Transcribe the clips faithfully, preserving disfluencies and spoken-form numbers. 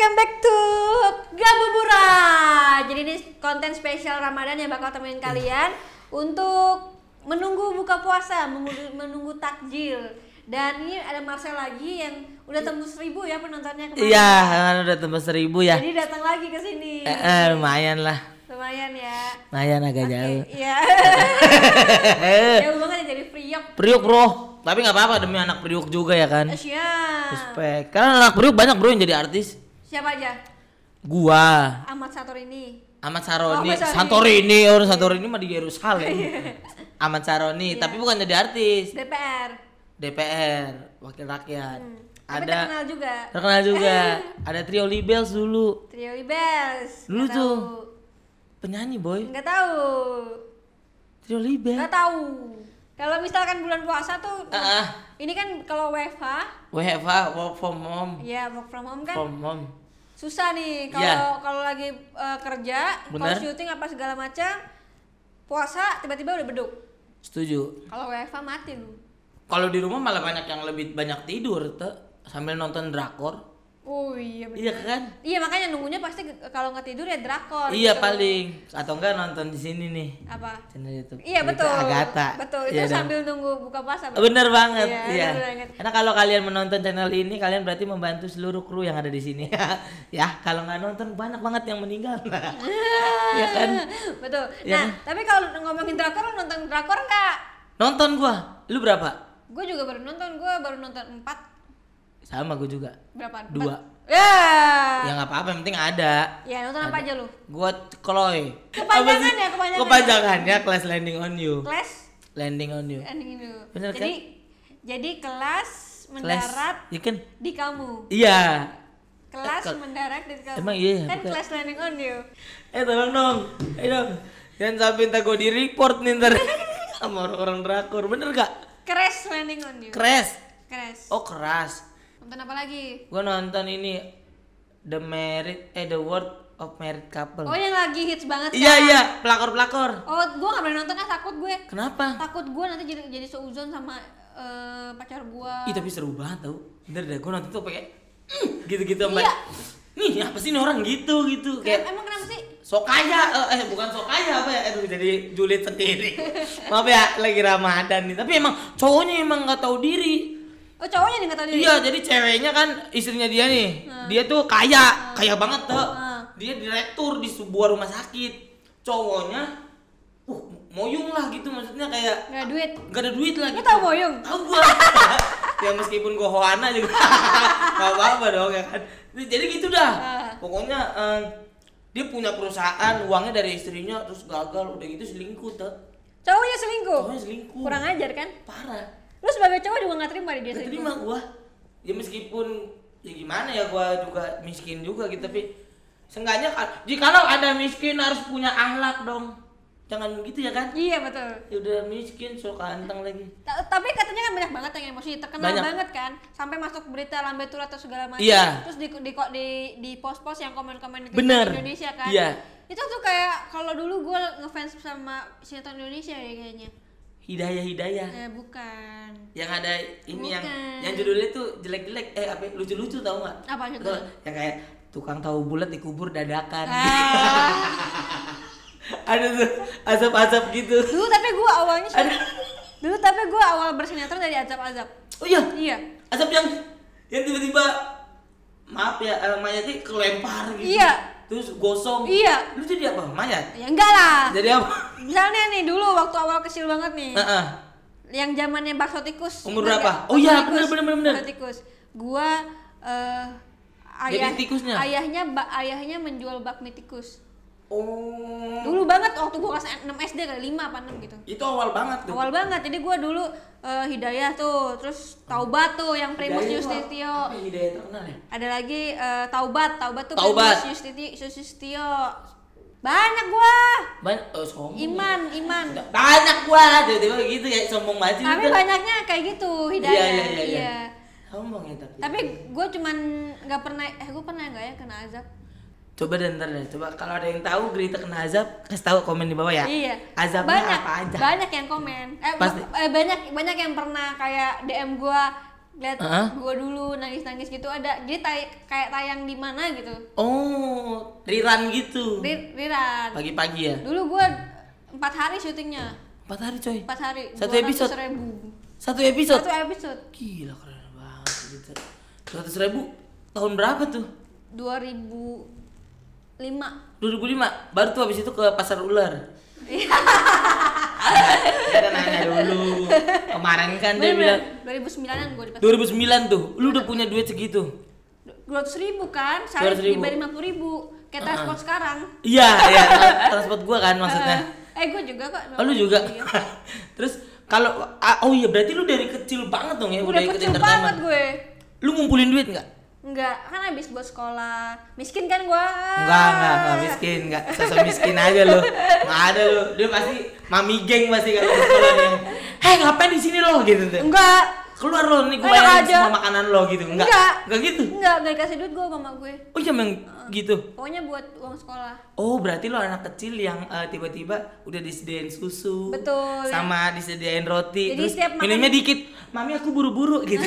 welcome back to Gabuburan. Jadi ini konten spesial Ramadan yang bakal temenin kalian untuk menunggu buka puasa, menunggu, menunggu takjil. Dan ini ada Marcel lagi yang udah tembus seribu ya penontonnya kemarin. Iya, kan udah tembus seribu ya. Jadi datang lagi ke sini. Eh, eh, lumayan lah. Lumayan ya. Lumayan agak Oke, jauh. iya. Jauh banget ya jadi Priok. Priuk bro, tapi nggak apa-apa demi anak Priuk juga ya kan. Siap. Respect. Karena anak Priuk banyak bro yang jadi artis. Siapa aja? Gua, Ahmad Satorini. Ahmad Saroni, Oh, Ahmad Saroni. Santorini, orang Santorini mah di Yerusalem. Ahmad Saroni, Iya. tapi bukan jadi artis. D P R. D P R, wakil rakyat. Hmm. Tapi Ada terkenal juga. terkenal juga. Ada Trio Libels dulu. Trio Libels. Dulu Nggak tuh. tahu. Penyanyi boy. Nggak tahu. Trio Libel. Nggak tahu. Kalau misalkan bulan puasa tuh, Ah, ah. ini kan kalau W F H, W F H, work from home. ya work from home kan From home. susah nih. Kalau Iya. kalau lagi uh, kerja, kalau Bener. syuting apa segala macam, puasa tiba-tiba udah beduk. Setuju. Kalau W F H mati lu. Kalau di rumah malah banyak yang lebih banyak tidur tuh sambil nonton drakor. Oh iya bener. Iya kan? Iya makanya nunggunya pasti ge- kalau nggak tidur ya drakor. Iya gitu. paling atau enggak nonton di sini nih. Apa? Channel YouTube. Iya Itu betul. Agatha. Betul. Itu Iya dong. sambil nunggu buka puasa. Bener banget. Iya, Iya. bener banget. Karena kalau kalian menonton channel ini kalian berarti membantu seluruh kru yang ada di sini. Ya, kalau nggak nonton banyak banget yang meninggal. Iya kan? Betul. Iya Nah, kan? tapi kalau ngomongin drakor, lu nonton drakor nggak? Nonton gua. Lu berapa? Gue juga baru nonton, gue baru nonton empat. Sama gua juga. Berapa? Dua. Empat? Ya. Ya nggak apa-apa, yang penting ada. Ya nonton apa aja lu? Gua Chloe. Kepanjangan Apa sih? ya, kepanjangan. Kepanjangannya Class Landing on You. Kelas Landing on You. ending itu. Bener jadi jadi kelas mendarat Ya kan? di kamu. Iya. Kelas Eh, ke- mendarat di kamu. Emang iya ya? Kan Bukan. kelas landing on you. Eh tolong dong. Ayo dong. Jangan sampai ntar gue di report nih ntar sama orang-orang drakor. Bener gak? Crash landing on you. Crash. Crash. Oh keras. Nonton apa lagi? Gue nonton ini The Married eh The World of Married Couple. Oh yang lagi hits banget Iya sekarang. iya, pelakor-pelakor. Oh, gue gak boleh nonton ah, takut gue. Kenapa? Takut gue nanti jadi jadi seuzon sama eh, pacar gue. Ih tapi seru banget tau. Bener deh, gue nonton tuh pakai "Mm," gitu-gitu sampai. Iya. Nih apa sih ini orang gitu gitu kayak Emang kenapa sih? sok kaya, eh, eh bukan sok kaya apa ya, aduh jadi julid sendiri. Maaf ya, lagi Ramadan nih. Tapi emang cowoknya emang nggak tahu diri. Oh cowoknya nih nggak tahu diri. Iya, jadi ceweknya kan istrinya dia nih, Hmm. dia tuh kaya, kaya banget tuh. Hmm. Dia direktur di sebuah rumah sakit. Cowoknya, uh moyung lah gitu, maksudnya kayak Nggak ada duit. gak ada duit lah. Lu Gitu. tahu moyung? Tahu gua. Ya meskipun gua hoana juga, gak apa-apa dong ya kan. Jadi gitu dah. Ah. Pokoknya eh, dia punya perusahaan, uangnya dari istrinya, terus gagal, udah gitu selingkuh tuh. Cowoknya selingkuh. Cowoknya selingkuh. Kurang ajar kan? Parah. Lu sebagai cowok juga nggak terima di dia Gak selingkuh. terima gua. Ya meskipun ya gimana ya, gua juga miskin juga gitu, tapi seenggaknya jikalau ada miskin harus punya akhlak dong. Jangan begitu ya kan? Iya betul. Ya udah miskin sok kantong lagi. Ta- Tapi katanya kan banyak banget yang emosi, terkenal Banyak. banget kan, sampai masuk berita lambe tur atau segala macam. Iya. Terus di di di, di, di post-post yang komen-komen di Bener. Indonesia kan. Iya. Itu tuh kayak kalau dulu gue ngefans sama sinetron Indonesia ya kayaknya. Hidayah hidayah. Eh bukan. Yang ada ini yang Bukan. yang judulnya tuh jelek-jelek, eh apa lucu-lucu tau nggak? Apa Atau judulnya? yang kayak tukang tahu bulat dikubur dadakan. Ah. Ada tuh azab-azab gitu. Dulu tapi gue awalnya Ada. Dulu tapi gue awal bersinetron dari azab-azab. Oh iya. Iya. Azab yang yang tiba-tiba maaf ya, eh, mayatnya kelempar gitu. Iya. Terus gosong. Iya. Lu jadi apa? Mayat? Ya enggak lah. Jadi apa? Misalnya nih dulu waktu awal kecil banget nih. Heeh. Yang zamannya bakso tikus. Umur Ingat berapa? nggak? Oh Bakso iya, tikus. bener, bener, bener, bener. Bakso tikus. Gua eh Jadi ayah tikusnya? ayahnya ba- ayahnya menjual bakmi tikus. Oh. Dulu banget waktu gua kelas enam S D kali lima apa enam gitu. Itu awal banget tuh. Awal banget. Jadi gua dulu eh, Hidayah tuh, terus Taubat tuh yang Primus Hidayah tuh Yustitio. apa ya, Hidayah terkenal ya? Ada lagi eh, Taubat, Taubat tuh Taubat. Primus Yustitio, Yustitio. Banyak gua. Banyak oh, sombong. Iman, Iman. Banyak gua, tiba-tiba gitu ya, sombong banget. Tapi gitu. banyaknya kayak gitu Hidayah. Iya, iya, iya, iya. Sombong ya tapi. Tapi gue cuman nggak pernah, eh gue pernah nggak ya kena azab? Coba deh ntar deh, coba kalau ada yang tahu Grita kena azab, kasih tahu komen di bawah ya. Iya. Azabnya banyak, apa aja? Banyak yang komen. Eh, Pasti. bu- eh, banyak banyak yang pernah kayak D M gue lihat Heeh. gue dulu nangis-nangis gitu ada. Jadi tay- kayak tayang di mana gitu. Oh, rerun gitu. Ri- Riran. Pagi-pagi ya? Dulu gue empat hari syutingnya. Empat hari coy. Empat hari. Satu dua ratus episode? ribu. Satu episode? Satu episode. Gila keren banget gitu. Seratus ribu tahun berapa tuh? dua ribu lima. dua ribu lima baru tuh habis itu ke pasar ular. Iya. Kita nanya dulu. Kemarin kan dia bilang dua ribu sembilan-an gue di pasar. dua ribu sembilan tuh, lu udah punya duit segitu. dua ratus ribu kan, dua sehari ratus ribu. dibayar lima puluh ribu. Kayak Uh-uh. transport sekarang. Iya, iya, tra- transport gua kan maksudnya. Eh, gue juga kok. Oh, lu juga. Iya. Terus kalau ah, oh iya berarti lu dari kecil banget dong ya udah, Udah ikut kecil entertainment. banget gue. Lu ngumpulin duit enggak? Enggak, kan habis buat sekolah. Miskin kan gua. Enggak, enggak, enggak miskin, enggak. Sosok miskin aja lu. Enggak ada lu. Dia pasti mami geng pasti kalau ke sekolah dia. Hei, ngapain di sini lo gitu tuh. Enggak. Keluar lo nih gua Enak bayarin aja. semua makanan lo gitu. Enggak. Enggak. Enggak gitu. Enggak, enggak dikasih duit gua sama gue. Oh, iya emang gitu. Pokoknya buat uang sekolah. Oh, berarti lo anak kecil yang eh, tiba-tiba udah disediain susu. Betul. Sama disediain roti. Jadi terus setiap makan- minumnya dikit. Mami aku buru-buru gitu.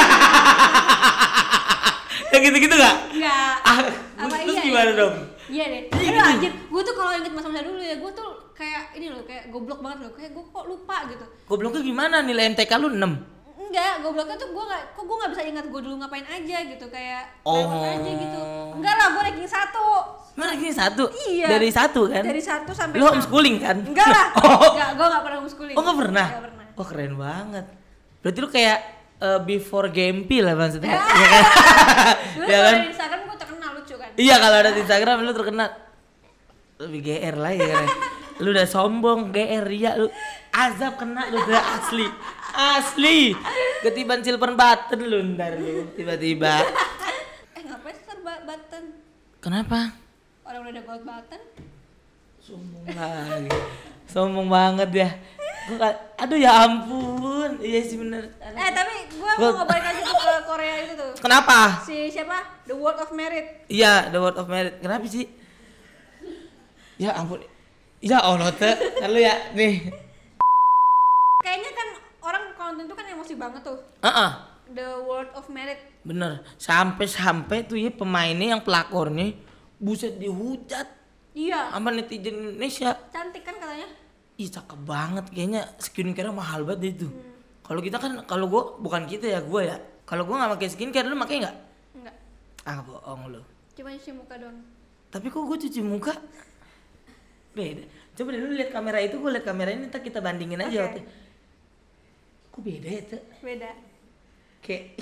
Yang gitu-gitu gak? Enggak. Ah, Apa terus iya, gimana iya. dong? Iya deh. Iya Aduh gitu. anjir, gue tuh kalau inget masa-masa dulu ya, gue tuh kayak ini loh, kayak goblok banget loh. Kayak gue kok lupa gitu. Gobloknya gimana? Nilai M T K lu enam? Enggak, gobloknya tuh gue gak, kok gue gak bisa ingat gue dulu ngapain aja gitu. Kayak Oh. lewat aja gitu. Enggak lah, gue ranking satu. Mana ini satu? Iya. Dari satu kan? Dari satu sampai Lu enam. homeschooling kan? Enggak lah. Oh. Enggak, gue gak pernah homeschooling. Oh, nggak pernah? Nggak pernah. Oh, keren banget. Berarti lu kayak eh, before Gempi lah maksudnya. Iya kan? Dulu Iya kalau kan? di Instagram gue terkenal lucu kan. Iya, kalau ada di Instagram lu terkenal. Lebih G R lah ya kan. Lu udah sombong, G R ya lu. Azab kena lu udah asli. Asli. Ketiban silver button lu ntar lu tiba-tiba. Eh ngapain sih serba button? Kenapa? Orang udah ada gold button. Sombong lagi. Sombong banget ya. Gua ka- aduh ya ampun. Iya sih bener. Eh tapi gue Gold. mau ngebalik aja tuh ke Korea itu tuh. Kenapa? Si siapa? The World of Merit. Iya, The Word of Merit. Kenapa sih? Ya ampun. Ya Allah, teh. Lalu ya nih. Kayaknya kan orang kalau nonton itu kan emosi banget tuh. Heeh. The World of Merit. Bener. Sampai-sampai tuh ya pemainnya yang pelakornya buset dihujat Iya. sama netizen Indonesia. Cantik kan katanya. Ih, cakep banget kayaknya skincare mahal banget deh itu. Hmm. Kalau kita kan kalau gua bukan kita ya, gua ya. Kalau gua nggak pakai skincare, lu pakai nggak? Enggak. Ah, bohong lu. Cuma cuci muka doang. Tapi kok gua cuci muka beda. Coba deh lu lihat kamera itu, gua lihat kamera ini, ntar kita bandingin aja. Oke. waktu. Kok beda ya, Teh? Beda. Kayak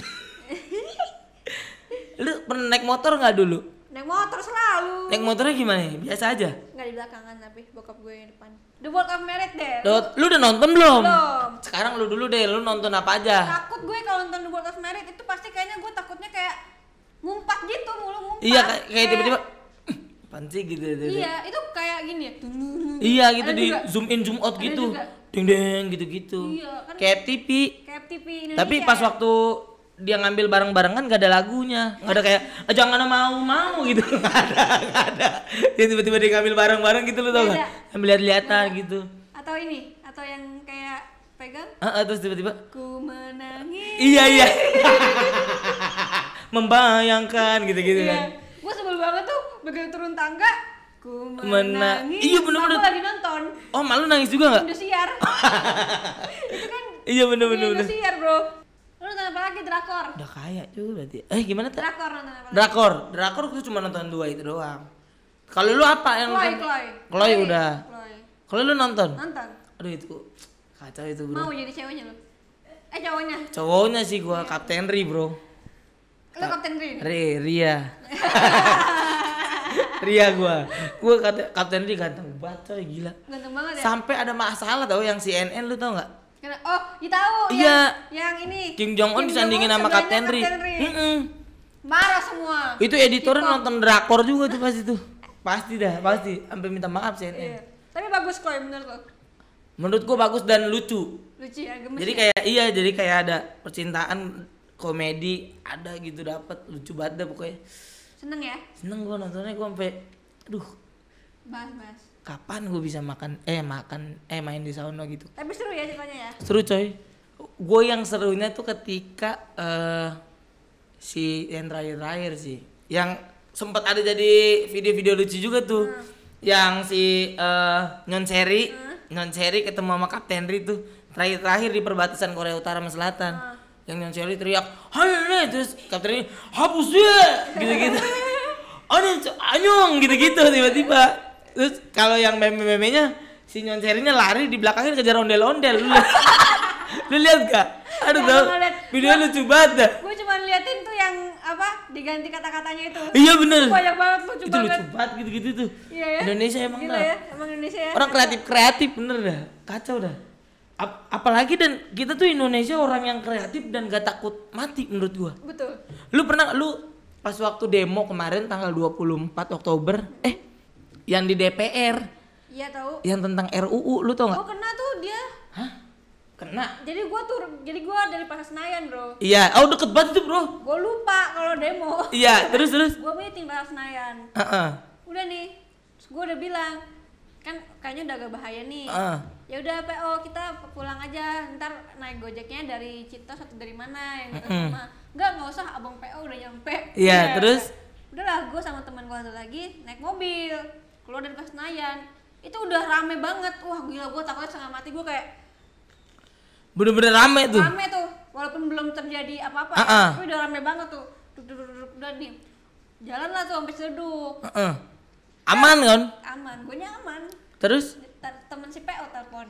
lu pernah naik motor nggak dulu? Naik motor selalu. Naik motornya gimana? Biasa aja. Enggak di belakangan tapi bokap gue yang depan. The World of Merit deh. Lu, lu udah nonton belum? Belum. Sekarang lu dulu deh, lu nonton apa aja? Takut gue kalau nonton The World of Merit itu pasti kayaknya gue takutnya kayak ngumpat gitu, mulu ngumpat. Iya, kayak, kayak tiba-tiba apaan sih gitu, gitu. Iya, itu kayak gini ya. Iya gitu Ada di juga. zoom in zoom out Ada gitu. juga. Deng deng gitu-gitu. Iya, kan. Kayak T V. Kayak T V Indonesia. Tapi pas ya. waktu dia ngambil barang-barang kan gak ada lagunya. Gak ada kayak "Ah, jangan mau-mau gitu. Gak ada, gak ada. Dia tiba-tiba dia ngambil barang-barang gitu lu tau Beda. gak? Ambil lihat-lihatan gitu. Atau ini, atau yang kayak pegang Heeh, terus tiba-tiba ku menangis. iya iya. Membayangkan gitu-gitu Iya. kan. Gue sebel banget tuh begitu turun tangga ku Mena- menangis. Iya, bener-bener. Aku lagi nonton Oh, malu nangis juga gak? Indosiar. Itu kan Iya bener-bener. bener. Indosiar, Bro. Lu nonton apa lagi? Drakor. Udah kaya juga berarti. Eh gimana tuh? Drakor nonton apa lagi? Drakor, drakor gue cuma nonton dua itu doang. Kalau lu apa yang Chloe, nonton? Chloe. Chloe udah. Chloe. Kalau lu nonton? Nonton. Aduh itu kacau itu bro. Mau jadi ceweknya lu? Eh cowoknya. Cowoknya sih gua Kapten Ri bro. Lu Kapten Rin. Ri, Ria. Ria gua. Gua kata Kapten Ri ganteng banget coy, gila. Ganteng banget ya. Sampai ada masalah tau yang C N N lu tau nggak? Karena- oh, ya tahu Iya. yang, yang ini. Kim Jong Un Kim disandingin Jong-un sama sebelahnya Kapten Ri. Kapten Ri. Mm-mm. Marah semua. Itu editornya K-pop. nonton drakor juga tuh pasti tuh. Pasti dah, pasti. Sampai minta maaf C N N. Iya. Tapi bagus kok menurut lo. Menurut gua bagus dan lucu. Lucu ya, gemes. Jadi ya? kayak iya, jadi kayak ada percintaan, komedi, ada gitu dapet lucu banget dah pokoknya. seneng ya Seneng gua nontonnya, gua sampai aduh, bahas-bahas. kapan gua bisa makan eh makan eh main di sauna gitu. Tapi seru ya ceritanya ya. Seru coy. gue yang serunya tuh ketika uh, si yang terakhir-terakhir sih, yang sempat ada jadi video-video lucu juga tuh, hmm. yang si uh, Nyon Seri, hmm. Nyon Seri ketemu sama Kapten Ri tuh terakhir-terakhir di perbatasan Korea Utara sama Selatan, hmm. yang Nyon Seri teriak, hai terus Kapten Ri hapus dia, gitu-gitu, aneh anyong gitu-gitu tiba-tiba, terus kalau yang meme-memenya si Nyon Serinya lari di belakangnya kejar ondel-ondel, lu, lu lihat gak? Aduh tau, video lucu banget dah. Gue cuma liatin tuh yang apa diganti kata-katanya itu. Iya bener. Banyak banget lucu itu banget. Lucu banget gitu-gitu tuh. Iya ya. Indonesia emang Gila dah. Ya, emang Indonesia ya. Orang kreatif-kreatif bener dah. Kacau dah. Ap- apalagi dan kita tuh Indonesia orang yang kreatif dan gak takut mati menurut gua. Betul. Lu pernah lu pas waktu demo kemarin tanggal dua puluh empat Oktober eh yang di D P R. Iya tahu. Yang tentang R U U lu tau gak? Gua kena tuh dia. Hah? Kena. Jadi gua tuh jadi gua dari Pasar Senayan, Bro. Iya, oh deket banget tuh, Bro. Gua lupa kalau demo. Iya, terus terus. Gua meeting Pasar Senayan. Heeh. Uh-uh. Udah nih. Terus gua udah bilang, kan kayaknya udah agak bahaya nih. Uh. Ya udah P O kita pulang aja, ntar naik Gojeknya dari Citos atau dari mana yang dekat Mm-mm. rumah. Enggak, enggak usah, Abang P O udah nyampe. Iya, Ya, terus udahlah, gua sama teman gua satu lagi naik mobil keluar dari Pasar Senayan. Itu udah rame banget. Wah, gila, gua takutnya setengah mati. Gua kayak bener-bener rame tuh. Rame tuh, walaupun belum terjadi apa-apa, Uh-uh. ya, tapi udah rame banget tuh. Duduk, duduk, duduk, udah nih. Jalan lah tuh sampai seduk. Uh-uh. Aman kan? Aman, gue aman. Terus? T- temen si P O telepon.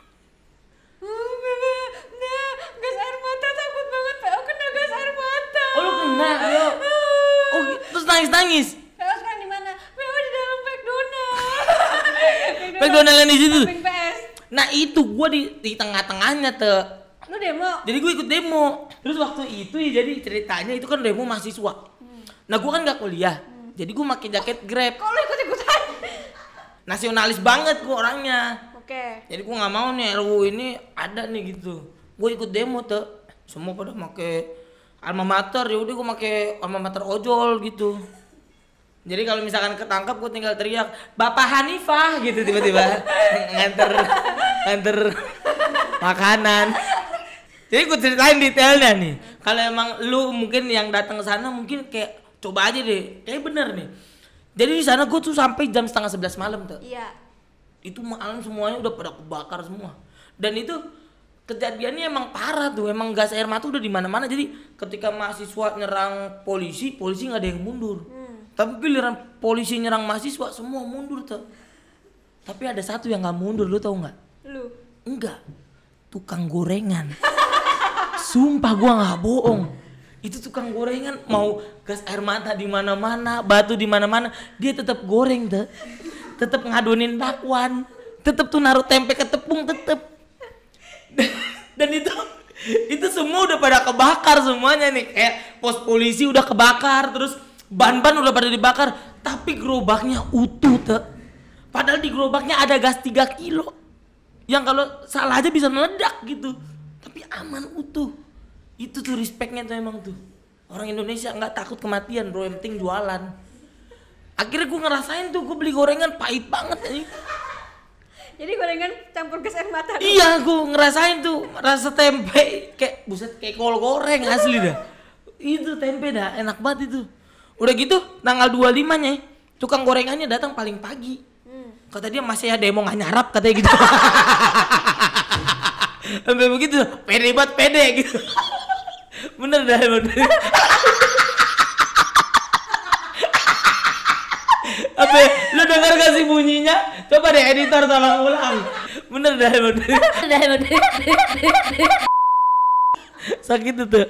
Nah, gas air mata, takut banget P O kena gas air mata. Oh lu kena, yo. Oh gi- terus nangis-nangis? P O sekarang di mana? P O di dalam McDonald. McDonald yang di situ. Samping P S. Nah itu gua di di tengah-tengahnya tuh. Lu demo? Jadi gue ikut demo. Terus waktu itu ya jadi ceritanya itu kan demo mahasiswa. Hmm. Nah gua kan nggak kuliah. Hmm. Jadi gua pakai jaket Grab. Kok lu ikut-ikutan? Nasionalis banget gua orangnya. Oke. Okay. Jadi gua nggak mau nih R U U ini ada nih gitu. Gua ikut demo tuh. Semua pada pakai alma mater, ya udah gua pakai alma mater ojol gitu. Jadi kalau misalkan ketangkap gue tinggal teriak Bapak Hanifah gitu tiba-tiba nganter nganter makanan. Jadi gue ceritain detailnya nih. Kalau emang lu mungkin yang datang ke sana mungkin kayak coba aja deh. Kayak bener nih. Jadi di sana gue tuh sampai jam setengah sebelas malam tuh. Iya. Itu malam semuanya udah pada kebakar semua. Dan itu kejadiannya emang parah tuh. Emang gas air mata udah di mana-mana. Jadi ketika mahasiswa nyerang polisi, polisi nggak ada yang mundur. Hmm. Tapi giliran polisi nyerang mahasiswa semua mundur tuh. Tapi ada satu yang nggak mundur, lu tau nggak? Lu? Enggak. Tukang gorengan. Sumpah gua nggak bohong. Itu tukang gorengan mau gas air mata di mana-mana, batu di mana-mana, dia tetap goreng tuh. Tetap ngadonin bakwan. Tetap tuh naruh tempe ke tepung tetep. Dan itu itu semua udah pada kebakar semuanya nih. Kayak pos polisi udah kebakar, terus ban-ban udah pada dibakar, tapi gerobaknya utuh tuh. Padahal di gerobaknya ada gas tiga kilo. Yang kalau salah aja bisa meledak gitu. Tapi aman utuh. Itu tuh respectnya tuh emang tuh. Orang Indonesia nggak takut kematian bro, yang penting jualan. Akhirnya gue ngerasain tuh, gue beli gorengan pahit banget nih. Jadi gorengan campur gas air mata. Iya, gue ngerasain tuh rasa tempe kayak buset kayak kol goreng asli dah. Itu tempe dah enak banget itu. Udah gitu tanggal dua puluh lima nya tukang gorengannya datang paling pagi. Hmm. Kata dia masih ada demo nggak nyarap katanya gitu. Sampai begitu pede banget pede gitu. Bener dah bener. Apa lu denger gak sih bunyinya? Coba deh editor tolong ulang. Bener dah bener. Dah bener. Sakit tuh.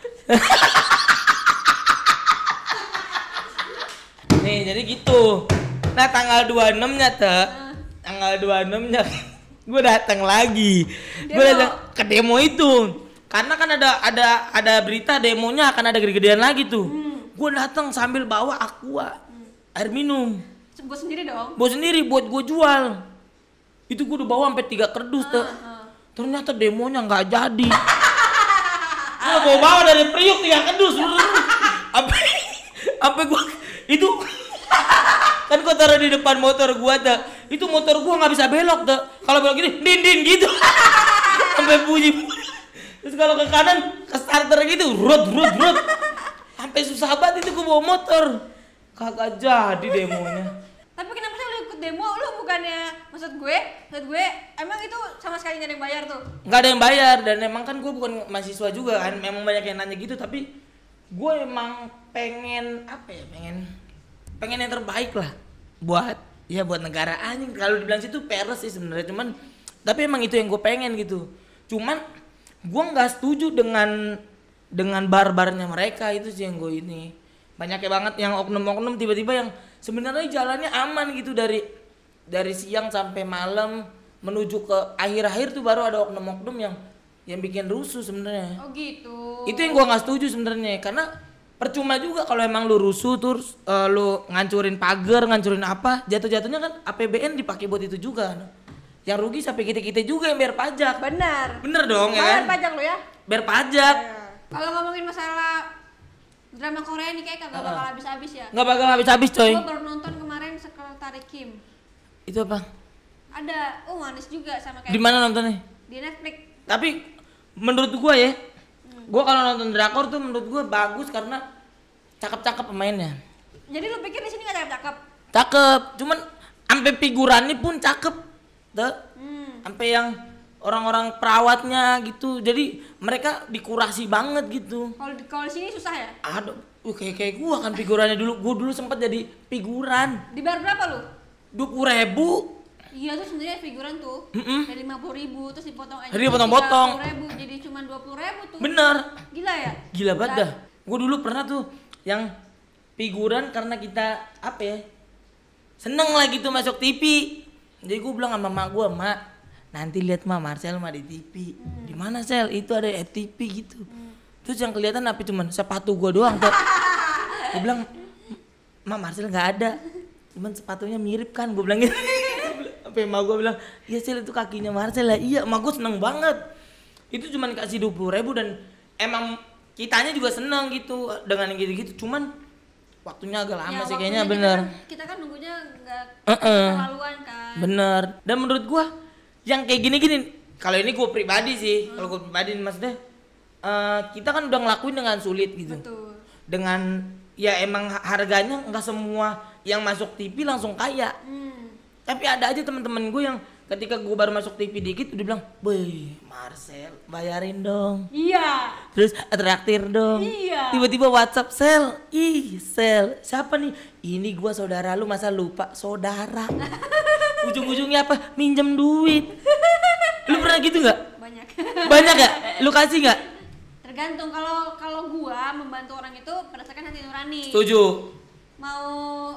Nih jadi gitu. Nah tanggal dua puluh enam nya tuh, uh. tanggal dua puluh enam nya gue datang lagi. Gue datang ke demo itu. Karena kan ada ada ada berita demonya akan ada gede-gedean lagi tuh. Hmm. Gue datang sambil bawa aqua, hmm. air minum. Buat sendiri dong? Buat sendiri, buat gue jual. Itu gue udah bawa sampai tiga kardus tuh. Uh, uh. Ternyata demonya nggak jadi. Gue bawa bawa dari Priuk tiga kardus. Sampai sampai gue itu kan gue taruh di depan motor gua tuh, itu motor gua nggak bisa belok tuh, kalau belok gini din din gitu, sampai bunyi, Terus kalau ke kanan ke starter gitu, rut rut rut. Sampai susah banget itu gue bawa motor. Kagak jadi demonya. Tapi kenapa sih lu ikut demo? Lu bukannya maksud gue, maksud gue emang itu sama sekali nggak ada yang bayar tuh? Nggak ada yang bayar dan emang kan gue bukan mahasiswa juga kan. Memang banyak yang nanya gitu tapi gue emang pengen apa ya? Pengen pengen yang terbaik lah buat ya buat negara anjing. Kalau dibilang situ peres sih sebenarnya cuman tapi emang itu yang gue pengen gitu. Cuman gue nggak setuju dengan dengan barbarnya mereka itu sih yang gue ini. Banyaknya banget yang oknum-oknum tiba-tiba yang sebenarnya jalannya aman gitu dari dari siang sampai malam menuju ke akhir-akhir tuh baru ada oknum-oknum yang yang bikin rusuh sebenarnya. Oh gitu. Itu yang gua nggak setuju sebenarnya karena percuma juga kalau emang lu rusuh terus uh, lu ngancurin pagar, ngancurin apa, jatuh-jatuhnya kan A P B N dipakai buat itu juga. Yang rugi sampai kita-kita juga yang bayar pajak. Benar. Bener dong ya Bayar kan? pajak lo ya? Bayar pajak. Ya. Kalau ngomongin masalah drama Korea nih kayak kagak bakal habis-habis ya. Nggak bakal habis-habis coy. Gue baru nonton kemarin Sekretari Kim. Itu apa? Ada, oh manis juga sama kayak Di mana nontonnya? di Netflix. Tapi menurut gua ya, hmm. gua kalau nonton drakor tuh menurut gua bagus karena cakep-cakep pemainnya. Jadi lu pikir di sini nggak cakep-cakep? Cakep, cuman sampai figurannya pun cakep, tuh. Hmm. Sampai yang orang-orang perawatnya gitu, jadi mereka dikurasi banget gitu. Kalau di kalau di sini susah ya? Aduh, uh, kayak kayak gua kan figurannya dulu, gua dulu sempat jadi figuran. Dibayar berapa lu? Dua puluh ribu. Iya tuh sebenarnya figuran tuh Mm-mm. dari lima puluh ribu terus dipotong aja. Jadi potong-potong. tiga puluh ribu jadi cuma dua puluh ribu tuh. Bener. Gila ya? Gila banget dah. Gua dulu pernah tuh yang figuran karena kita apa ya? Seneng lah gitu masuk T V. Jadi gua bilang sama mak gua, "Mak, nanti lihat mah Marcel mah di T V." Hmm. Di mana Sel? Itu ada T V gitu. Hmm. Terus yang kelihatan apa cuman sepatu gua doang tuh. Gua bilang, "Mak, Marcel nggak ada. Cuman sepatunya mirip kan." Gua bilang gitu. Sampai emak gue bilang, iya Sel itu kakinya Marcel lah. Iya, emak gue seneng banget. Itu cuma dikasih dua puluh ribu dan emang kitanya juga seneng gitu dengan yang gitu-gitu. Cuman waktunya agak lama Ya, sih kayaknya kita bener. Kan, kita kan nunggunya nggak Uh-uh. terlaluan kan. Bener. Dan menurut gue yang kayak gini-gini, kalau ini gue pribadi sih, hmm. kalau gue pribadi maksudnya uh, kita kan udah ngelakuin dengan sulit gitu. Betul. Dengan ya emang harganya nggak semua yang masuk T V langsung kaya. Hmm. Tapi ada aja teman-teman gue yang ketika gue baru masuk T V dikit udah bilang, "Boy, Marcel, bayarin dong." Iya. Terus traktir dong. Iya. Tiba-tiba WhatsApp, "Sel, ih Sel, siapa nih? Ini gue saudara lu, masa lupa saudara?" Ujung-ujungnya apa? Minjem duit. Lu pernah gitu nggak? Banyak. Banyak gak? Lu kasih nggak? Tergantung kalau kalau gua membantu orang itu berdasarkan hati nurani. Setuju. Mau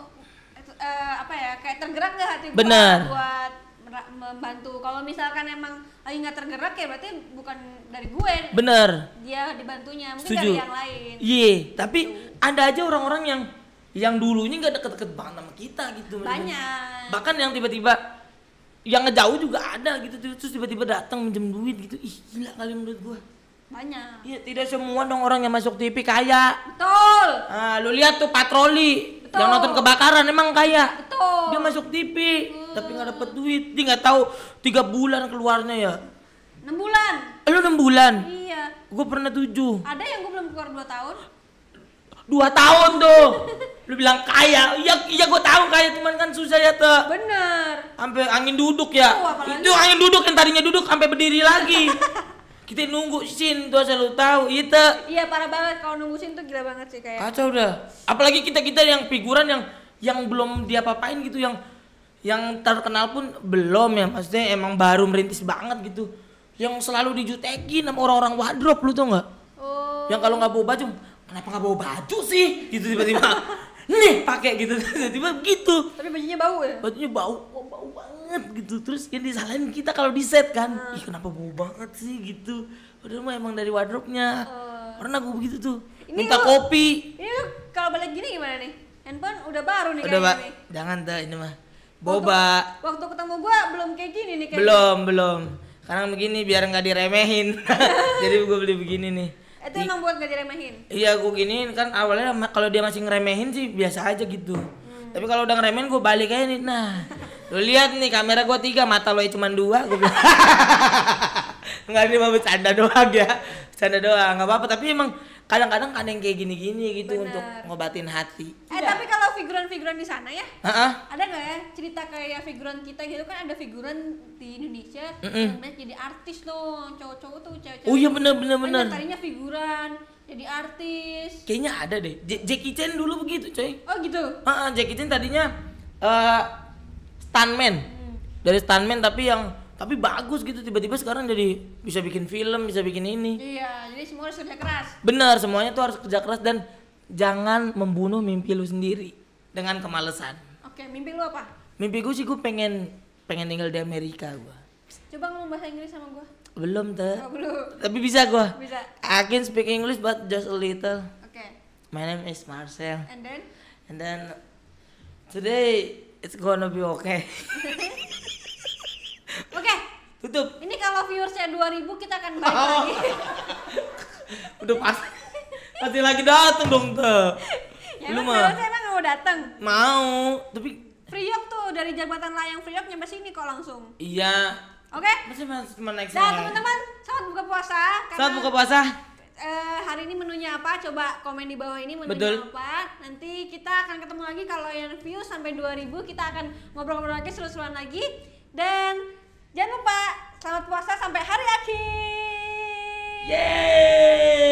uh, apa ya kayak tergerak nggak hati gua Bener. buat mer- membantu. Kalau misalkan emang lagi nggak tergerak ya berarti bukan dari gue. Bener. Dia dibantunya mungkin Setuju. dari yang lain. Iya, tapi ada aja orang-orang yang yang dulunya nggak deket-deket banget sama kita gitu. Banyak. Bahkan yang tiba-tiba yang ngejauh juga ada gitu terus tiba-tiba datang minjem duit gitu. Ih, gila kali menurut gua. Banyak. Iya, tidak semua dong orang yang masuk T V kaya. Betul. Ah, lu lihat tuh patroli Betul. yang nonton kebakaran emang kaya. Betul. Dia masuk T V Hmm. tapi nggak dapet duit. Dia nggak tahu tiga bulan keluarnya ya. enam bulan. Lu enam bulan. Iya. Gua pernah tujuh. Ada yang gue belum keluar dua tahun. Dua tahun tuh. Lu bilang kaya. Iya, iya gua tahu kaya cuman kan susah ya tuh. Bener. Sampai angin duduk ya. Oh, apalagi. Itu angin duduk yang tadinya duduk sampai berdiri lagi. Kita nunggu sin tuh asal lu tahu itu. Iya parah banget kalau nungguin tuh gila banget sih kayak. Kacau udah. Apalagi kita-kita yang figuran yang yang belum diapa-apain gitu yang yang terkenal pun belum ya. Maksudnya emang baru merintis banget gitu. Yang selalu dijutekin sama orang-orang wardrobe lu tau enggak? Oh. Yang kalau nggak bawa baju, kenapa nggak bawa baju sih? Gitu tiba-tiba. Nih pakai gitu tiba-tiba gitu. Tapi bajunya bau ya? Bajunya bau, oh, bau banget gitu. Terus yang disalahin kita kalau di set kan, hmm. ih kenapa bau banget sih gitu. Padahal mah emang dari wardrobe-nya. Uh. Pernah gue begitu tuh. Ini minta lu, kopi. Ini lu kalau balik gini gimana nih? Handphone udah baru nih udah, kayaknya nih. Jangan dah ini mah. Boba. Waktu, waktu ketemu gua belum kayak gini nih kayaknya. Belum, belum. Karena begini biar nggak diremehin. Jadi gue beli begini nih. Itu Di, emang buat gak diremehin? Iya gue giniin kan awalnya kalau dia masih ngeremehin sih biasa aja gitu. Hmm. Tapi kalau udah ngeremehin gue balik aja nih. Nah, lu lihat nih kamera gue tiga, mata lo cuma dua. Gue bilang. Enggak, ini mah bercanda doang ya. Bercanda doang, enggak apa-apa. Tapi emang kadang-kadang ada yang kayak gini-gini gitu. Bener. Untuk ngobatin hati. Eh ya. Tapi kalau figuran-figuran di sana ya, uh-uh. ada nggak ya cerita kayak figuran kita gitu kan, ada figuran di Indonesia Mm-mm. yang jadi artis loh, cowok-cowok tuh cewek-cewek. Oh iya bener bener bener. Tadinya figuran jadi artis. Kayaknya ada deh. J- Jackie Chan dulu begitu coy. Oh gitu. Uh-uh, Jackie Chan tadinya uh, stuntman. Hmm. Dari stuntman tapi yang tapi bagus gitu, tiba-tiba sekarang jadi bisa bikin film, bisa bikin ini. Iya, jadi semua harus kerja keras. Bener, semuanya tuh harus kerja keras dan jangan membunuh mimpi lu sendiri dengan kemalasan. Oke, mimpi lu apa? Mimpi gue sih gue pengen pengen tinggal di Amerika gue. Coba ngomong bahasa Inggris sama gue. Belum tuh. Oh, belum. Tapi bisa gue. Bisa. I can speak English but just a little. Oke. Okay. My name is Marcel. And then? And then today it's gonna be okay. Oke. Okay. Tutup. Ini kalau viewersnya dua ribu kita akan balik oh. lagi. Udah pasti. Pasti lagi dateng dong tuh. Ya lu mah. Saya emang mau datang. Mau, tapi Priok tuh dari jembatan layang Priok nyampe sini kok langsung. Iya. Oke. Okay? Masih cuma naik Nah, teman-teman, selamat buka puasa. Selamat buka puasa. Uh, hari ini menunya apa? Coba komen di bawah ini menunya Betul. apa. Nanti kita akan ketemu lagi kalau yang view sampai dua ribu kita akan ngobrol-ngobrol lagi, seru-seruan lagi. Dan jangan lupa selamat puasa sampai hari akhir. Yeay.